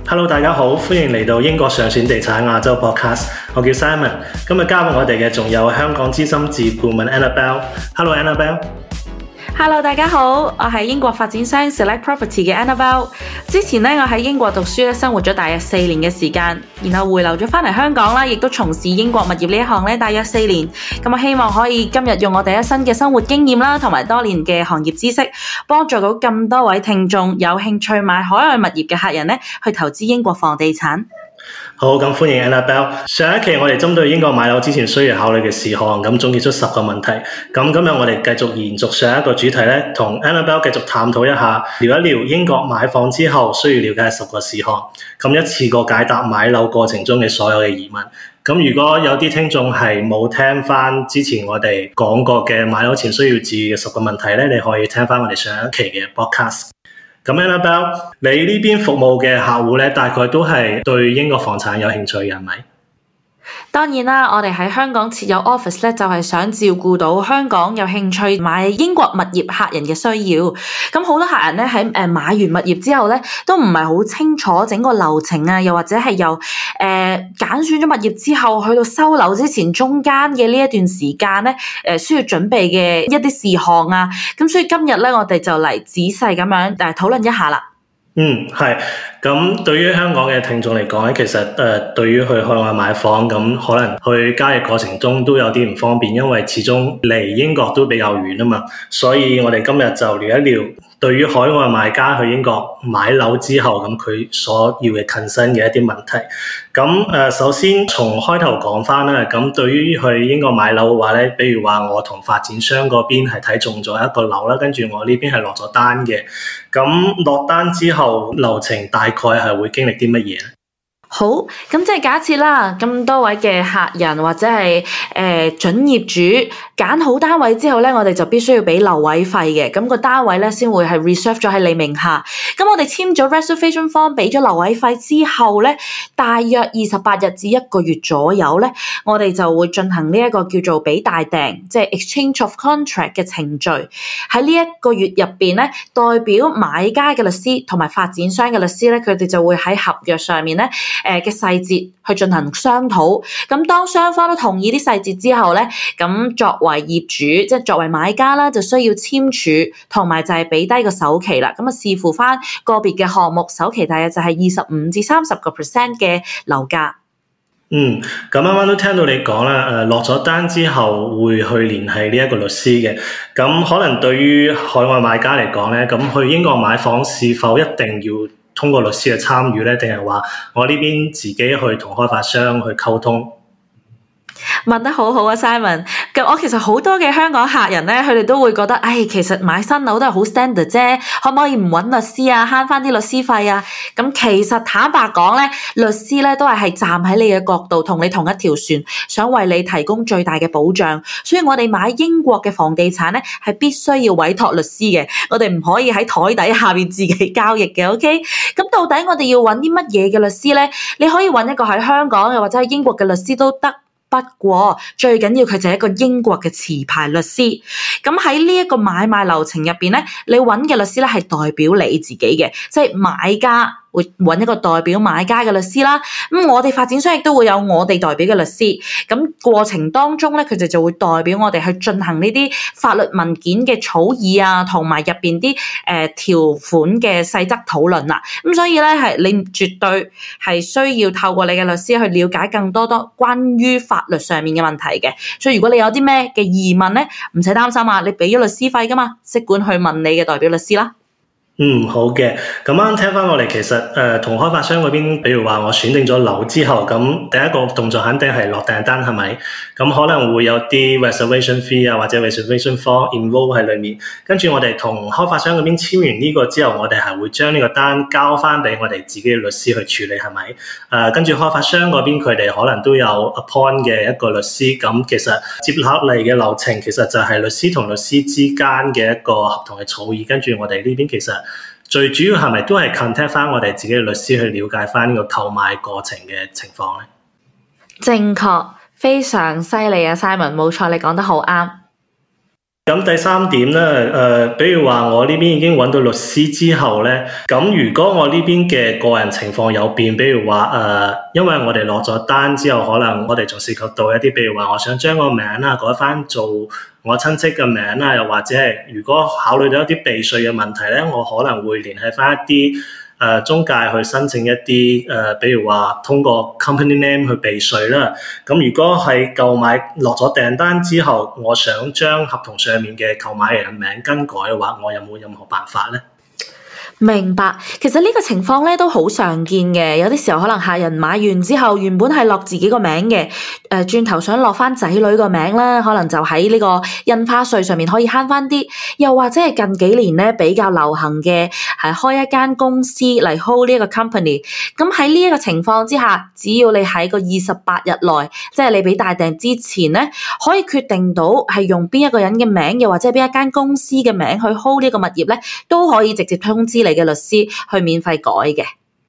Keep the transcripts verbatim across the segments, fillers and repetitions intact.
Hello， 大家好，歡迎嚟到英國上選地產亞洲 Podcast。我叫 Simon， 今日加入我哋嘅仲有香港資深自顧問 Annabelle。Hello Annabelle。Hello， 大家好，我係英國發展商 Select Property 嘅 Annabelle。之前咧，我喺英國讀書咧，生活咗大約四年嘅時間，然後回流咗返嚟香港啦，亦都從事英國物業呢一項咧，大約四年。咁我希望可以今日用我哋一身嘅生活經驗啦，同埋多年嘅行業知識，幫助到咁多位聽眾有興趣買海外物業嘅客人咧，去投資英國房地產。 好，咁歡迎 Annabelle。上一期我哋針對英國買樓之前需要考慮嘅事項，咁總結出十個問題。咁今日我哋繼續延續上一個主題咧，同 Annabelle 繼續探討一下，聊一聊英國買房之後需要了解嘅十個事項。咁一次過解答買樓過程中嘅所有嘅疑問。咁如果有啲聽眾係冇聽翻之前我哋講過嘅買樓前需要注意嘅十個問題咧，你可以聽翻我哋上一期嘅 podcast。咁 Annabelle，你呢邊服務嘅客戶咧，大概都係對英國房產有興趣嘅，係咪？ 當然啦，我哋喺香港設有 office 咧，就係想照顧到香港有興趣買英國物業客人嘅需要。咁好多客人咧喺誒買完物業之後咧，都唔係好清楚整個流程啊，又或者係由誒揀選咗物業之後去到收樓之前中間嘅呢一段時間咧，誒需要準備嘅一啲事項啊。咁所以今日咧，我哋就嚟仔細咁樣誒討論一下啦。 嗯，係。咁對於香港嘅聽眾嚟講咧，其實誒、呃、對於去海外買房，咁可能去交易過程中都有啲唔方便，因為始終離英國都比較遠啊嘛。所以我哋今日就聊一聊對於海外買家去英國買樓之後，咁佢所要嘅 concern 嘅一啲問題。咁誒、呃，首先從開頭講翻啦。咁對於去英國買樓嘅話咧，比如話我同發展商嗰邊係睇中咗一個樓啦，跟住我呢邊係落咗單嘅。咁落單之後流程大概係會經歷啲乜嘢咧？ 好，咁即係假設啦，咁多位嘅客人或者係誒、呃、準業主揀好單位之後咧，我哋就必須要俾留位費嘅，咁、那個單位咧先會係 reserve 咗喺你名下。咁我哋簽咗 reservation form， 俾咗留位費之後咧，大約二十八日至一個月左右咧，我哋就會進行呢一個叫做俾大訂，即係 exchange of contract 嘅程序。喺呢一個月入邊咧，代表買家嘅律師同埋發展商嘅律師咧，佢哋就會喺合約上面咧。誒嘅細節去進行商討，咁當雙方都同意啲細節之後咧，咁作為業主，即係作為買家啦，就需要簽署同埋就係俾低個首期啦。咁啊視乎翻個別嘅項目，首期大約就係二十五至三十個 percent 嘅樓價。 嗯，咁啱啱都聽到你講啦，誒落咗單之後會去聯繫呢一個律師嘅。咁可能對於海外買家嚟講咧，咁去英國買房是否一定要通過律師嘅參與咧，定係話我呢邊自己去同開發商去溝通？ 問得好好啊 Simon， 咁我其實好多嘅香港客人咧，佢哋都會覺得，唉，其實買新樓都係好 standard 啫，可唔可以唔揾律師啊，慳翻啲律師費啊？咁其實坦白講咧，律師咧都係係站喺你嘅角度，同你同一條船，想為你提供最大嘅保障。所以我哋買英國嘅房地產咧，係必須要委託律師嘅，我哋唔可以喺台底下面自己交易嘅。OK， 咁到底我哋要揾啲乜嘢嘅律師咧？你可以揾一個喺香港又或者喺英國嘅律師都得。不過最緊要佢就係一個英國嘅持牌律師。咁喺呢一個買賣流程入邊咧，你揾嘅律師咧係代表你自己嘅，即係買家會揾一個代表買家嘅律師啦。咁我哋發展商亦都會有我哋代表嘅律師。咁過程當中咧，佢哋就會代表我哋去進行呢啲法律文件嘅草擬啊，同埋入邊啲誒條款嘅細則討論啦。咁所以咧係你絕對係需要透過你嘅律師去了解更多多關於法律上面嘅問題嘅。所以如果你有啲咩嘅疑問咧，唔使擔心啊，你俾咗律師費噶嘛，即管去問你嘅代表律師啦。 嗯，好嘅。咁啱聽翻我哋其實誒同、呃、開發商嗰邊，比如話我選定咗樓之後，咁第一個動作肯定係落訂單，係咪？咁可能會有啲 reservation fee 啊，或者 reservation form involve 喺裏面。跟住我哋同開發商嗰邊簽完呢個之後，我哋係會將呢個單交翻俾我哋自己嘅律師去處理，係咪？誒、呃，跟住開發商嗰邊佢哋可能都有 appoint 嘅一個律師。咁其實接落嚟嘅流程其實就係律師同律師之間嘅一個合同嘅草擬。跟住我哋呢邊其實最主要係咪都係 contact 翻我哋自己嘅律師去了解翻呢個購買過程嘅情況咧？ 正確，非常犀利啊 Simon， 冇錯，你講得好啱。 咁第三點咧，誒、呃，比如話我呢邊已經揾到律師之後咧，咁如果我呢邊嘅個人情況有變，比如話誒、呃，因為我哋落咗單之後，可能我哋仲涉及到一啲，比如話我想將個名啊改翻做我親戚嘅名啊，又或者係如果考慮到一啲避稅嘅問題咧，我可能會聯繫翻一啲誒、呃、中介去申請一啲誒、呃，比如話通過 company name 去避稅啦。咁如果係購買落咗訂單之後，我想將合同上面嘅購買人嘅名更改嘅話，我有冇任何辦法咧？ 明白，其實呢個情況咧都好常見嘅，有啲時候可能客人買完之後，原本係落自己個名嘅，誒、呃、轉頭想落翻仔女個名啦，可能就喺呢個印花稅上面可以慳翻啲，又或者係近幾年咧比較流行嘅係開一間公司嚟 hold 呢一個 company，咁喺呢一個情況之下，只要你喺個二十八日內，即係你俾大訂之前咧，可以決定到係用邊一個人嘅名，又或者係邊一間公司嘅名去 hold 呢個物業咧，都可以直接通知你嘅律師去免費改嘅。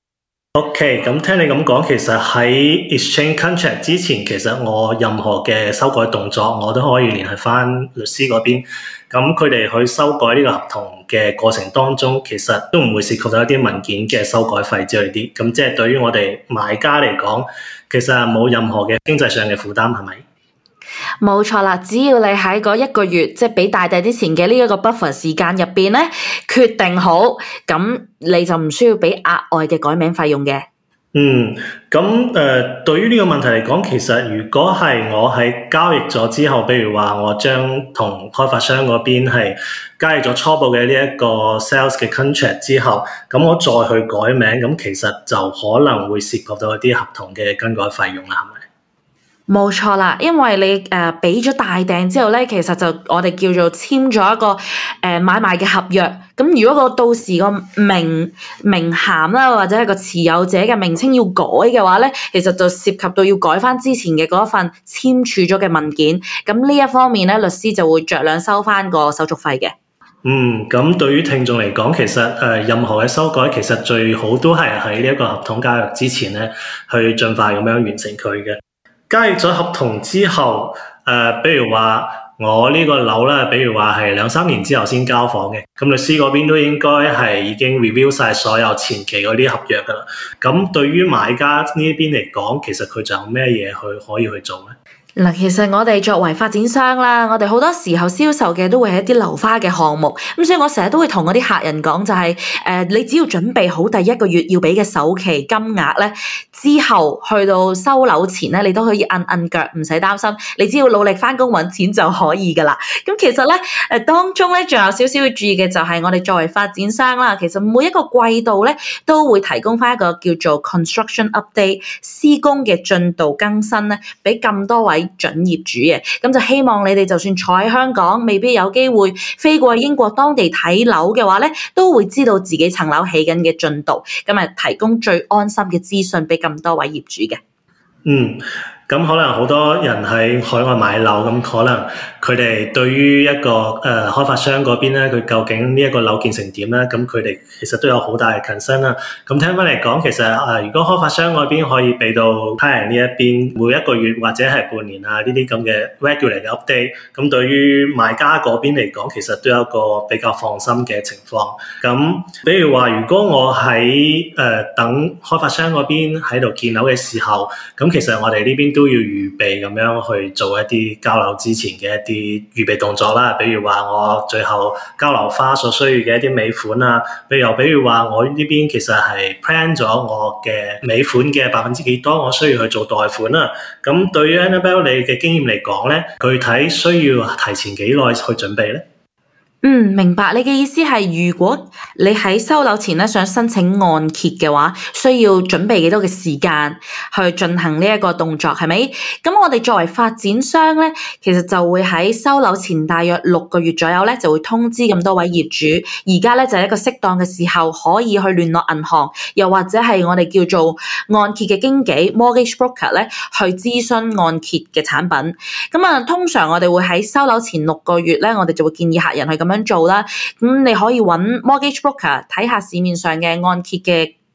OK，咁聽你咁講，其實喺 exchange contract 之前，其實我任何嘅修改動作，我都可以聯繫翻律師嗰邊。咁佢哋去修改呢個合同嘅過程當中，其實都唔會涉及到一啲文件嘅修改費之類啲。咁即係對於我哋買家嚟講，其實係冇任何嘅經濟上嘅負擔，係咪？ 冇錯啦，只要你喺嗰一個月，即係俾大訂之前嘅呢一個 buffer 時間入邊咧，決定好，咁你就唔需要俾額外嘅改名費用嘅。 嗯，咁誒、呃，對於呢個問題嚟講，其實如果係我喺交易咗之後，比如話我將同開發商嗰邊係交易咗初步嘅呢一個 sales 嘅 contract 之後，咁我再去改名，咁其實就可能會涉及到一啲合同嘅更改費用啦，係咪？ 冇錯啦，因為你誒俾咗大訂之後咧，其實就我哋叫做簽咗一個誒、呃、買賣嘅合約。咁如果個到時個名名銜啦，或者係個持有者嘅名稱要改嘅話咧，其實就涉及到要改翻之前嘅嗰一份簽署咗嘅文件。咁呢一方面咧，律師就會酌量收翻個手續費嘅。 嗯，咁對於聽眾嚟講，其實誒、呃、任何嘅修改，其實最好都係喺呢一個合同交易之前咧，去盡快咁樣完成佢嘅。交易咗合同之後，誒、呃，比如話我呢個樓咧，比如話係兩三年之後先交房嘅，咁律師嗰邊都應該係已經 review 晒所有前期嗰啲合約噶啦。咁對於買家呢邊嚟講，其實佢仲有咩嘢去可以去做咧？ 嗱，其實我哋作為發展商啦，我哋好多時候銷售嘅都會係一啲樓花嘅項目，咁所以我成日都會同嗰啲客人講就係、是，誒、呃，你只要準備好第一個月要俾嘅首期金額咧，之後去到收樓前咧，你都可以摁摁腳，唔使擔心，你只要努力返工揾錢就可以噶啦。咁其實咧，誒、呃、當中咧仲有少少要注意嘅就係我哋作為發展商啦，其實每一個季度咧都會提供返一個叫做 construction update 施工嘅進度更新咧，俾咁多位準業主嘅，咁就希望你哋就算坐喺香港，未必有機會飛過去英國當地睇樓嘅話咧，都會知道自己層樓起緊嘅進度，咁啊提供最安心嘅資訊俾咁多位業主嘅。 嗯。咁可能好多人喺海外買樓，咁可能佢哋對於一個誒、呃、開發商嗰邊咧，佢究竟呢一個樓建成點咧？咁佢哋其實都有好大嘅 concern 啦。咁聽翻嚟講，其實誒、呃、如果開發商嗰邊可以俾到客人呢一邊每一個月或者係半年啊呢啲咁嘅 regular 嘅 update，咁對於買家嗰邊嚟講，其實都有一個比較放心嘅情況。咁比如話，如果我喺誒、呃、等開發商嗰邊喺度建樓嘅時候，咁其實我哋呢邊都都要預備咁樣去做一啲交樓之前嘅一啲預備動作啦，比如話我最後交樓花所需要嘅一啲尾款啊，比如又比如話我呢邊其實係 plan 咗我嘅尾款嘅百分之幾多，我需要去做貸款啦。咁對於 Annabelle 你嘅經驗嚟講咧，具體需要提前幾耐去準備咧？ 嗯，明白。你嘅意思係，如果你喺收樓前咧想申請按揭嘅話，需要準備幾多嘅時間去進行呢一個動作，係咪？咁我哋作為發展商咧，其實就會喺收樓前大約六個月左右咧，就會通知咁多位業主，而家咧就係一個適當嘅時候，可以去聯絡銀行，又或者係我哋叫做按揭嘅經紀 mortgage broker 咧，去諮詢按揭嘅產品。咁啊，通常我哋會喺收樓前六個月咧，我哋就會建議客人去咁樣做啦，咁你可以揾 mortgage broker 睇下市面上嘅按揭嘅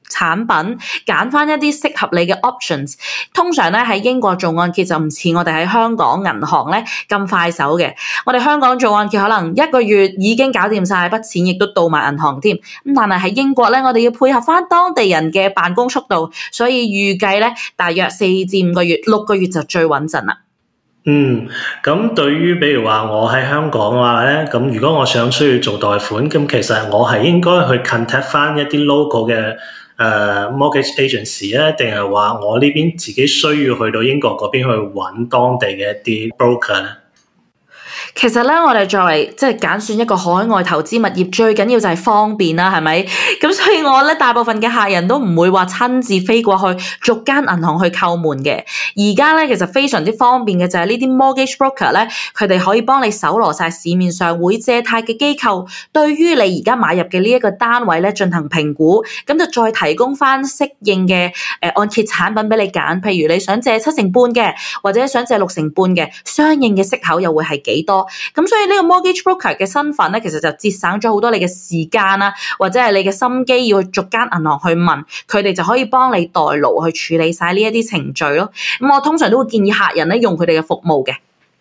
產品，揀翻一啲適合你嘅 options。通常咧喺英國做按揭就唔似我哋喺香港銀行咧咁快手嘅。我哋香港做按揭可能一個月已經搞掂晒筆錢，亦都到埋銀行添。咁但係喺英國咧，我哋要配合翻當地人嘅辦公速度，所以預計咧大約四至五個月、六個月就最穩陣啦。 嗯，咁對於比如話我喺香港嘅話咧，咁如果我想需要做貸款，咁其實我係應該去 contact 翻一啲 local 嘅誒、呃、mortgage agency 咧，定係話我呢邊自己需要去到英國嗰邊去揾當地嘅一啲 broker 咧？ 其實咧，我哋作為即係揀選一個海外投資物業，最緊要就係方便啦，係咪？咁所以我咧大部分嘅客人都唔會話親自飛過去逐間銀行去叩門嘅。而家咧其實非常之方便嘅就係呢啲 mortgage broker 咧，佢哋可以幫你搜羅晒市面上會借貸嘅機構，對於你而家買入嘅呢一個單位咧進行評估，咁就再提供翻適應嘅誒按揭產品俾你揀。譬如你想借七成半嘅，或者想借六成半嘅，相應嘅息口又會係幾多？咁所以呢個 mortgage broker 嘅身份咧，其實就節省咗好多你嘅時間啦，或者係你嘅心機要去逐間銀行去問，佢哋就可以幫你代勞去處理晒呢一啲程序咯。咁我通常都會建議客人咧用佢哋嘅服務嘅。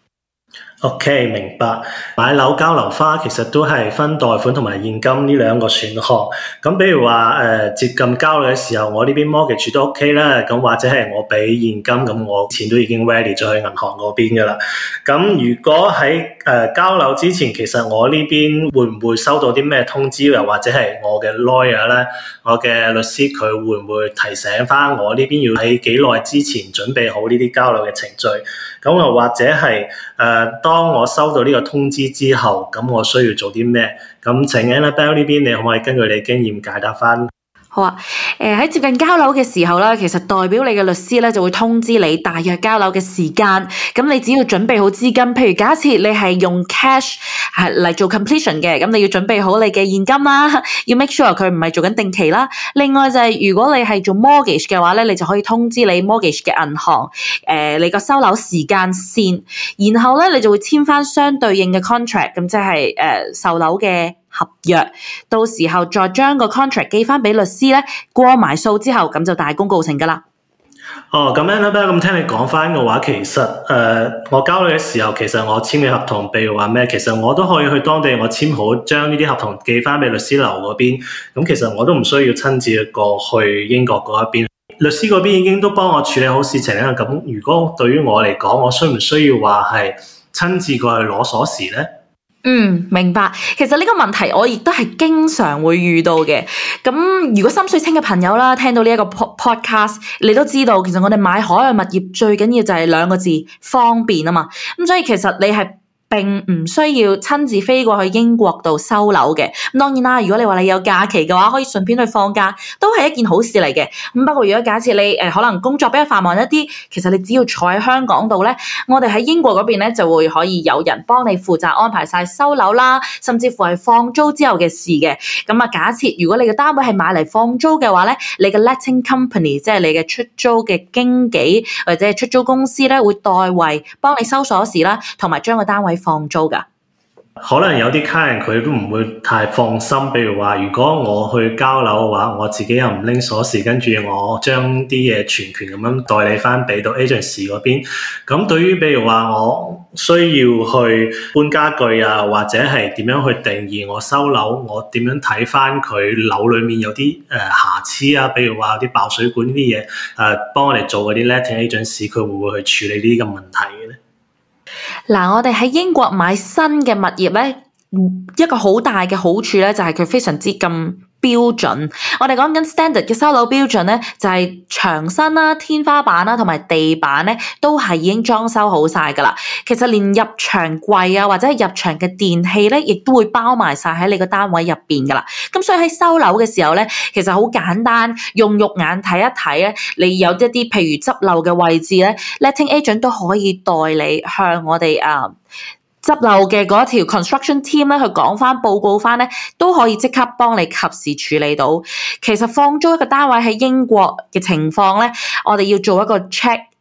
OK， 明白。買樓交樓花其實都係分貸款同埋現金呢兩個選項。咁比如話誒、呃、接近交樓嘅時候，我呢邊 mortgage 都 OK 啦。咁或者係我俾現金，咁我錢都已經 ready 咗去銀行嗰邊噶啦。咁如果喺誒、呃、交樓之前，其實我呢邊會唔會收到啲咩通知，又或者係我嘅 lawyer 咧，我嘅律師佢會唔會提醒翻我呢邊要喺幾耐之前準備好呢啲交樓嘅程序？咁又或者係誒、呃、當我收到呢個通知之後，咁我需要做啲咩？咁請 Annabelle 呢邊，你可唔可以根據你經驗解答翻？ 好啊，誒、呃、喺接近交樓嘅時候咧，其實代表你嘅律師咧就會通知你大約交樓嘅時間。咁你只要準備好資金，譬如假設你係用 cash 係嚟做 completion 嘅，咁你要準備好你嘅現金啦，要 make sure 佢唔係做緊定期啦。另外就係、是、如果你係做 mortgage 嘅話咧，你就可以通知你 mortgage 嘅銀行，誒、呃、你個收樓時間線，然後咧你就會簽翻相對應嘅 contract，咁即係誒、呃、售樓嘅合約，到時候再將個 contract 寄翻俾律師咧，過埋數之後，咁就大功告成噶啦。 哦，咁樣啦，咁聽你講翻嘅話，其實誒、呃，我交樓嘅時候，其實我簽嘅合同，譬如話咩，其實我都可以去當地我簽好，將呢啲合同寄翻俾律師樓嗰邊。咁其實我都唔需要親自過去英國嗰一邊，律師嗰邊已經都幫我處理好事情啦。咁如果對於我嚟講，我需唔需要話係親自過去攞鎖匙咧？ 嗯，明白。其實呢個問題我亦都係經常會遇到嘅。咁如果心水清嘅朋友啦，聽到呢一個 podcast，你都知道，其實我哋買海外物業最緊要就係兩個字，方便啊嘛。咁所以其實你係並唔需要親自飛過去英國度收樓嘅。咁當然啦，如果你話你有假期嘅話，可以順便去放假，都係一件好事嚟嘅。咁不過如果假設你誒、呃、可能工作比較繁忙一啲，其實你只要坐喺香港度咧，我哋喺英國嗰邊咧就會可以有人幫你負責安排晒收樓啦，甚至乎係放租之後嘅事嘅。咁啊，假設如果你嘅單位係買嚟放租嘅話咧，你嘅 letting company 即係你嘅出租嘅經紀或者係出租公司咧，會代為幫你收鎖匙啦，同埋將個單位放租噶。 可能有啲客人佢都唔會太放心，譬如話如果我去交樓嘅話，我自己又唔拎鎖匙，跟住我將啲嘢全權咁樣代理翻俾到 agency 嗰邊。咁對於譬如話我需要去搬家具啊，或者係點樣去定義我收樓，我點樣睇翻佢樓裏面有啲誒、呃、瑕疵啊，譬如話有啲爆水管呢啲嘢，誒、呃、幫我哋做嗰啲 letting agency，佢會唔會去處理呢啲咁問題嘅咧？ 嗱，我哋喺英國買新嘅物業咧，一個好大嘅好處咧，就係佢非常之咁標準。我哋講緊 standard 嘅收樓標準咧，就係牆身啦、天花板啦同埋地板咧，都係已經裝修好晒噶啦。其實連入牆櫃啊，或者係入牆嘅電器咧，亦都會包埋晒喺你個單位入邊噶啦。咁所以喺收樓嘅時候咧，其實好簡單，用肉眼睇一睇咧，你有一啲譬如執漏嘅位置咧 ，letting agent 都可以代你向我哋啊。執漏嘅嗰條 construction team 咧，去講翻報告翻咧，都可以即刻幫你及時處理到。其實放租一個單位喺英國嘅情況咧，我哋要做一個 check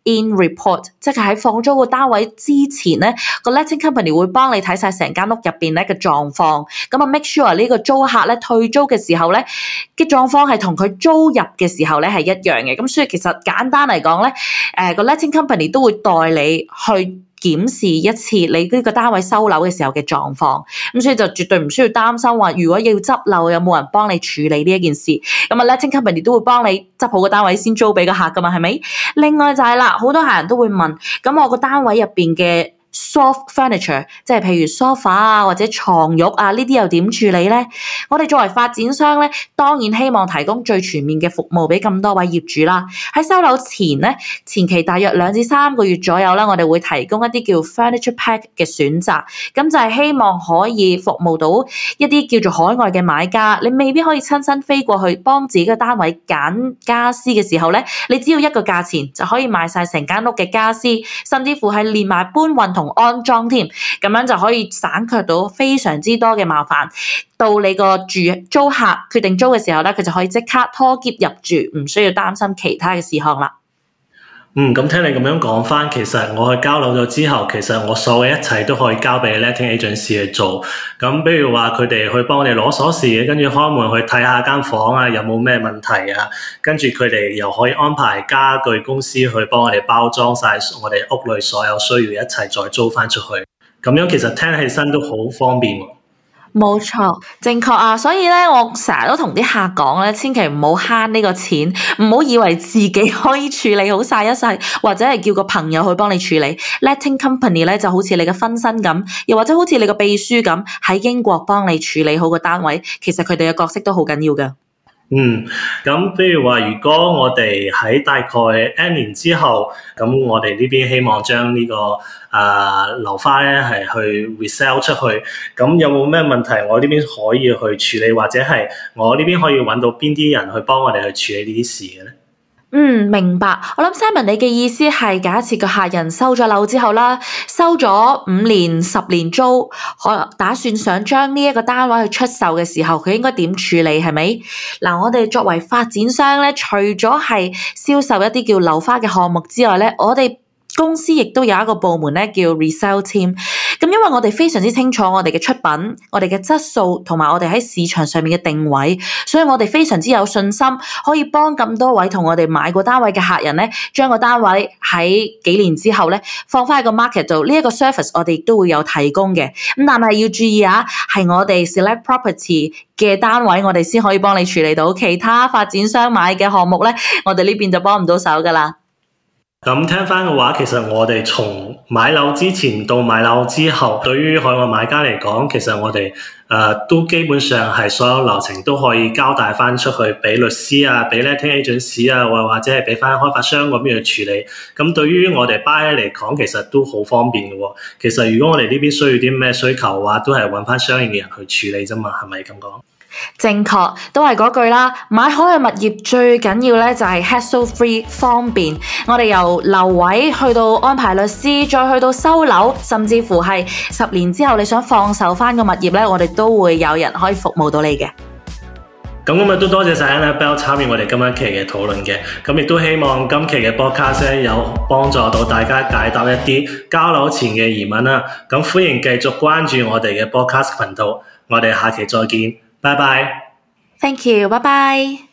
in report， 即係喺放租個單位之前咧，個 letting company 會幫你睇晒成間屋入邊咧嘅狀況，咁啊 make sure 呢個租客咧退租嘅時候咧嘅狀況係同佢租入嘅時候咧係一樣嘅，咁所以其實簡單嚟講咧，誒個 letting company 都會代你去檢視一次你呢個單位收樓嘅時候嘅狀況，咁所以就絕對唔需要擔心話如果要執漏有冇人幫你處理呢一件事，咁啊 letting company 都會幫你執好個單位先租俾個客噶嘛，係咪？另外就係啦，好多客人都會問，咁我個單位入邊嘅soft furniture， 即係譬如 sofa 啊或者床褥啊呢啲又點處理咧？我哋作為發展商咧，當然希望提供最全面嘅服務俾咁多位業主啦。喺收樓前咧，前期大約兩至三個月左右啦，我哋會提供一啲叫 furniture pack 嘅選擇，咁就係希望可以服務到一啲叫做海外嘅買家，你未必可以親身飛過去幫自己嘅單位揀家私嘅時候咧，你只要一個價錢就可以買晒成間屋嘅家私，甚至乎係連埋搬運同安裝添，咁樣就可以省卻到非常之多嘅麻煩。到你個住租客決定租嘅時候咧，佢就可以即刻拖喼入住，唔需要擔心其他嘅事項啦。 嗯，咁聽你咁樣講翻，其實我去交樓咗之後，其實我所有嘅一切都可以交俾 letting agency 去做。咁比如話佢哋去幫我哋攞鎖匙，跟住開門去睇下間房啊，有冇咩問題啊，跟住佢哋又可以安排家具公司去幫我哋包裝晒我哋屋裏所有需要一齊再租翻出去。咁樣其實聽起身都好方便喎。 冇錯，正確啊！所以咧，我成日都同啲客講咧，千祈唔好慳呢個錢，唔好以為自己可以處理好晒一世，或者係叫個朋友去幫你處理。Letting company 咧就好似你嘅分身咁，又或者好似你嘅秘書咁，喺英國幫你處理好個單位。其實佢哋嘅角色都好緊要㗎。 嗯，咁譬如話，如果我哋喺大概一年之後，咁我哋呢邊希望將呢、這個啊樓花咧係去 resell 出去，咁有冇咩問題？我呢邊可以去處理，或者係我呢邊可以揾到邊啲人去幫我哋去處理呢啲事嘅咧？ 嗯，明白。我諗 Simon 你嘅意思係假設個客人收咗樓之後啦，收咗五年、十年租，可打算想將呢一個單位去出售嘅時候，佢應該點處理係咪？嗱，我哋作為發展商咧，除咗係銷售一啲叫樓花嘅項目之外咧，我哋公司亦都有一個部門咧叫 resell team。咁因為我哋非常之清楚我哋嘅出品、我哋嘅質素同埋我哋喺市場上面嘅定位，所以我哋非常之有信心可以幫咁多位同我哋買過單位嘅客人咧，將個單位喺幾年之後咧放翻喺個 market 度。呢一個 service 我哋亦都會有提供嘅。咁但係要注意啊，係我哋 select property 嘅單位，我哋先可以幫你處理到。其他發展商買嘅項目咧，我哋呢邊就幫唔到手噶啦。 咁聽翻嘅話，其實我哋從買樓之前到買樓之後，對於海外買家嚟講，其實我哋誒、呃、都基本上係所有流程都可以交代翻出去俾律師啊，俾 letting agency 啊，或或者係俾翻開發商嗰邊去處理。咁對於我哋 buyer 嚟講，其實都好方便嘅喎。其實如果我哋呢邊需要啲咩需求嘅話，都係揾翻相應嘅人去處理啫嘛，係咪咁講？ 正確，都係嗰句啦。買海外物業最緊要咧就係 hassle free 方便。我哋由留位去到安排律師，再去到收樓，甚至乎係十年之後你想放售翻個物業咧，我哋都會有人可以服務到你嘅。 咁今日都多謝晒 Annabelle 參與我哋今一期嘅討論嘅，咁亦都希望今期嘅 podcast 有幫助到大家解答一啲交樓前嘅疑問啦。咁歡迎繼續關注我哋嘅 podcast 頻道，我哋下期再見。拜拜。 Thank you，拜拜。